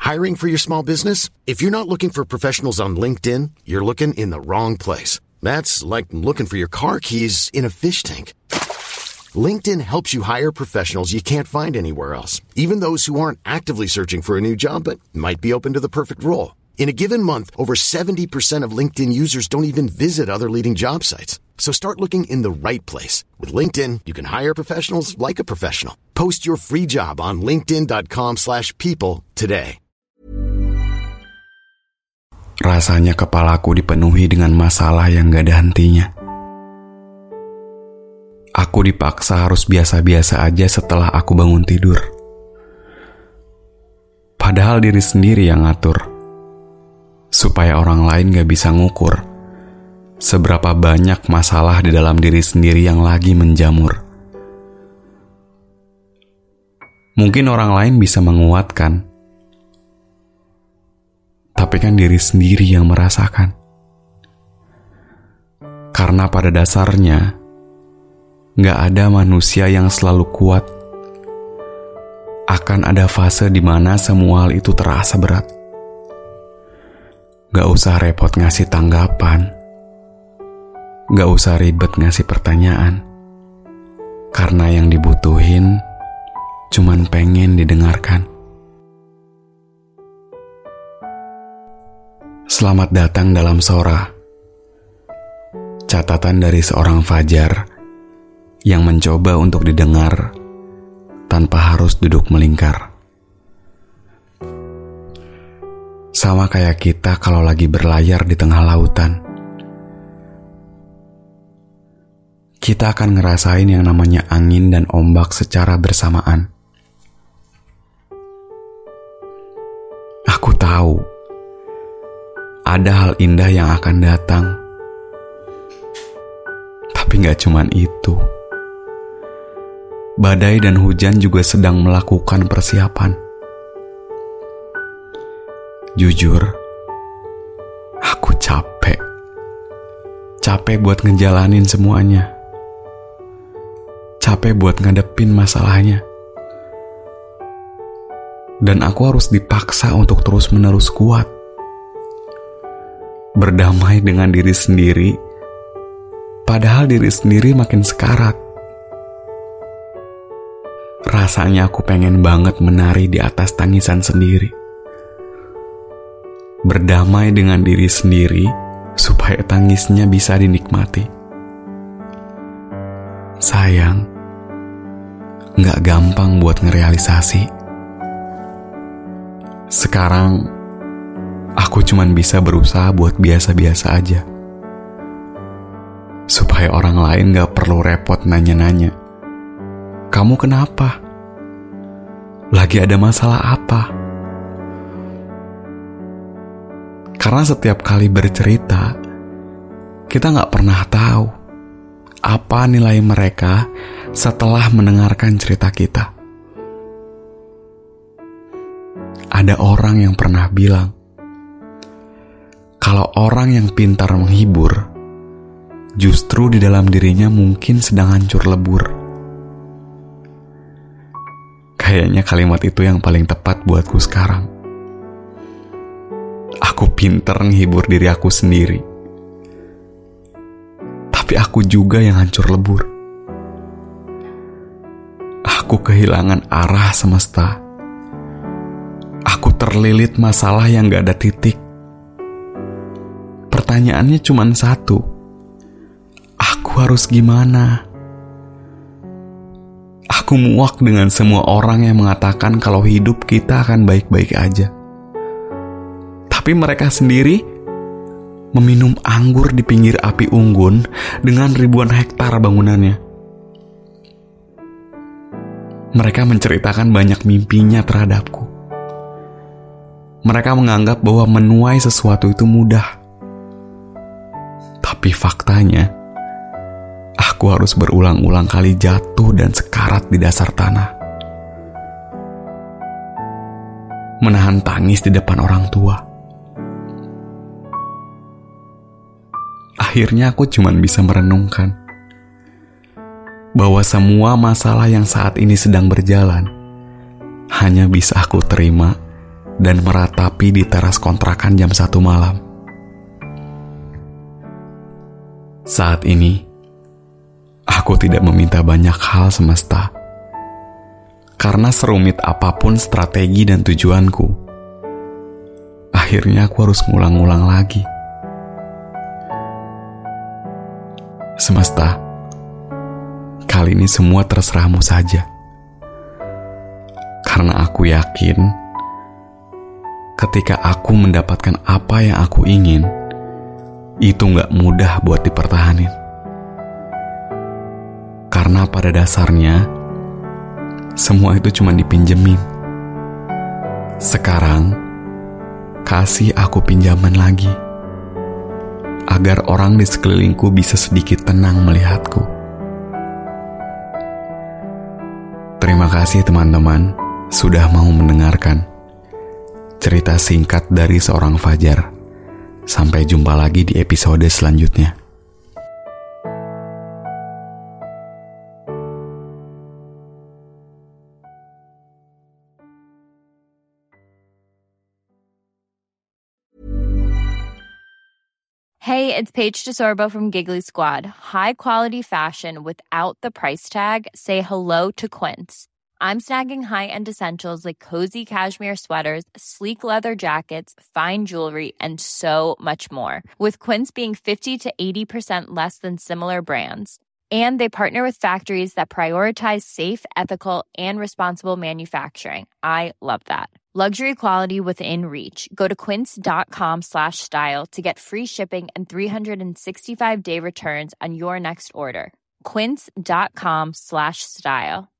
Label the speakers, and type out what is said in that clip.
Speaker 1: Hiring for your small business? If you're not looking for professionals on LinkedIn, you're looking in the wrong place. That's like looking for your car keys in a fish tank. LinkedIn helps you hire professionals you can't find anywhere else, even those who aren't actively searching for a new job but might be open to the perfect role. In a given month, over 70% of LinkedIn users don't even visit other leading job sites. So start looking in the right place. With LinkedIn, you can hire professionals like a professional. Post your free job on linkedin.com/people today.
Speaker 2: Rasanya kepalaku dipenuhi dengan masalah yang gak ada hentinya. Aku dipaksa harus biasa-biasa aja setelah aku bangun tidur. Padahal diri sendiri yang ngatur. Supaya orang lain gak bisa ngukur seberapa banyak masalah di dalam diri sendiri yang lagi menjamur. Mungkin orang lain bisa menguatkan, tapi kan diri sendiri yang merasakan. Karena pada dasarnya gak ada manusia yang selalu kuat. Akan ada fase di mana semua hal itu terasa berat. Gak usah repot ngasih tanggapan. Gak usah ribet ngasih pertanyaan. Karena yang dibutuhin cuman pengen didengarkan. Selamat datang dalam Sora. Catatan dari seorang Fajar yang mencoba untuk didengar tanpa harus duduk melingkar. Sama kayak kita kalau lagi berlayar di tengah lautan. Kita akan ngerasain yang namanya angin dan ombak secara bersamaan. Aku tahu ada hal indah yang akan datang. Tapi gak cuman itu. Badai dan hujan juga sedang melakukan persiapan. Jujur, aku capek. Capek buat ngejalanin semuanya. Capek buat ngadepin masalahnya. Dan aku harus dipaksa untuk terus-menerus kuat. Berdamai dengan diri sendiri, padahal diri sendiri makin sekarat. Rasanya aku pengen banget menari di atas tangisan sendiri. Berdamai dengan diri sendiri supaya tangisnya bisa dinikmati. Sayang, gak gampang buat ngerealisasi. Sekarang, aku cuman bisa berusaha buat biasa-biasa aja. Supaya orang lain gak perlu repot nanya-nanya. Kamu kenapa? Lagi ada masalah apa? Karena setiap kali bercerita, kita gak pernah tahu apa nilai mereka setelah mendengarkan cerita kita. Ada orang yang pernah bilang, kalau orang yang pintar menghibur, justru di dalam dirinya mungkin sedang hancur lebur. Kayaknya kalimat itu yang paling tepat buatku sekarang. Aku pintar menghibur diri aku sendiri. Tapi aku juga yang hancur lebur. Aku kehilangan arah semesta. Aku terlilit masalah yang gak ada titik. Pertanyaannya cuma satu. Aku harus gimana? Aku muak dengan semua orang yang mengatakan kalau hidup kita akan baik-baik aja. Tapi mereka sendiri meminum anggur di pinggir api unggun dengan ribuan hektar bangunannya. Mereka menceritakan banyak mimpinya terhadapku. Mereka menganggap bahwa menuai sesuatu itu mudah. Tapi faktanya, aku harus berulang-ulang kali jatuh dan sekarat di dasar tanah. Menahan tangis di depan orang tua. Akhirnya aku cuma bisa merenungkan bahwa semua masalah yang saat ini sedang berjalan hanya bisa aku terima dan meratapi di teras kontrakan jam 1 malam. Saat ini, aku tidak meminta banyak hal semesta. Karena serumit apapun strategi dan tujuanku, akhirnya aku harus ngulang-ngulang lagi. Semesta, kali ini semua terserahmu saja. Karena aku yakin, ketika aku mendapatkan apa yang aku ingin, itu gak mudah buat dipertahanin. Karena pada dasarnya, semua itu cuma dipinjemin. Sekarang, kasih aku pinjaman lagi, agar orang di sekelilingku bisa sedikit tenang melihatku. Terima kasih teman-teman sudah mau mendengarkan cerita singkat dari seorang Fajar. Sampai jumpa lagi di episode selanjutnya.
Speaker 3: Hey, it's Paige DeSorbo from Giggly Squad. High quality fashion without the price tag. Say hello to Quince. I'm snagging high-end essentials like cozy cashmere sweaters, sleek leather jackets, fine jewelry, and so much more. With Quince being 50 to 80% less than similar brands. And they partner with factories that prioritize safe, ethical, and responsible manufacturing. I love that. Luxury quality within reach. Go to quince.com/style to get free shipping and 365-day returns on your next order. Quince.com/style.